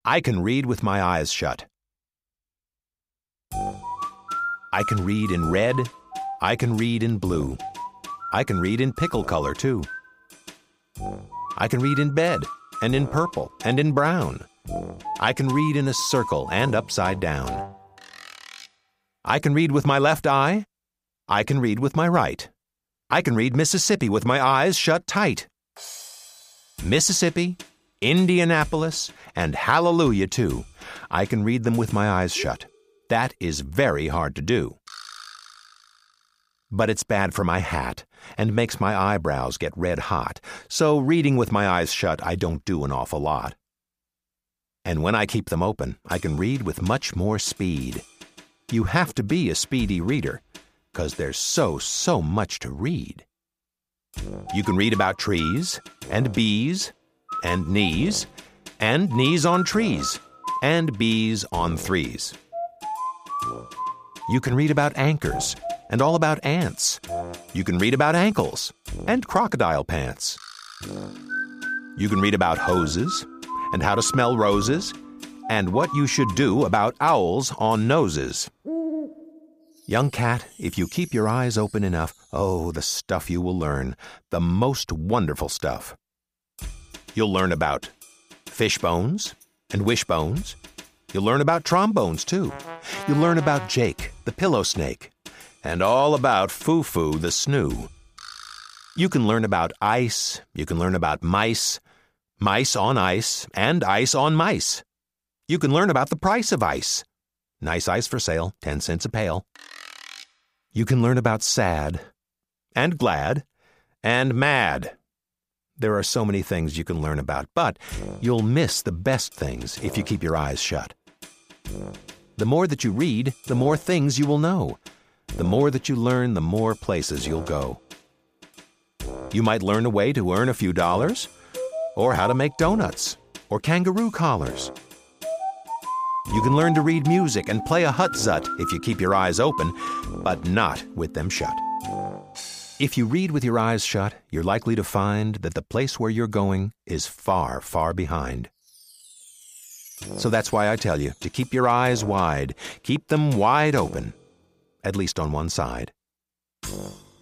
I can read with my eyes shut. I can read in red. I can read in blue. I can read in pickle color, too. I can read in bed, and in purple, and in brown. I can read in a circle and upside down. I can read with my left eye. I can read with my right. I can read Mississippi with my eyes shut tight. Mississippi, Indianapolis, and Hallelujah, too. I can read them with my eyes shut. That is very hard to do. But it's bad for my hat and makes my eyebrows get red hot, so reading with my eyes shut I don't do an awful lot. And when I keep them open, I can read with much more speed. You have to be a speedy reader, 'cause there's so much to read. You can read about trees, and bees, and knees on trees, and bees on threes. You can read about anchors, and all about ants. You can read about ankles, and crocodile pants. You can read about hoses, and how to smell roses, and what you should do about owls on noses. Young cat, if you keep your eyes open enough, oh, the stuff you will learn, the most wonderful stuff. You'll learn about fish bones and wishbones. You'll learn about trombones, too. You'll learn about Jake, the pillow snake, and all about Foo-Foo, the snoo. You can learn about ice. You can learn about mice, mice on ice, and ice on mice. You can learn about the price of ice. Nice ice for sale, 10 cents a pail. You can learn about sad, and glad, and mad. There are so many things you can learn about, but you'll miss the best things if you keep your eyes shut. The more that you read, the more things you will know. The more that you learn, the more places you'll go. You might learn a way to earn a few dollars, or how to make donuts, or kangaroo collars. You can learn to read music and play a hutzut if you keep your eyes open, but not with them shut. If you read with your eyes shut, you're likely to find that the place where you're going is far, far behind. So that's why I tell you to keep your eyes wide. Keep them wide open, at least on one side.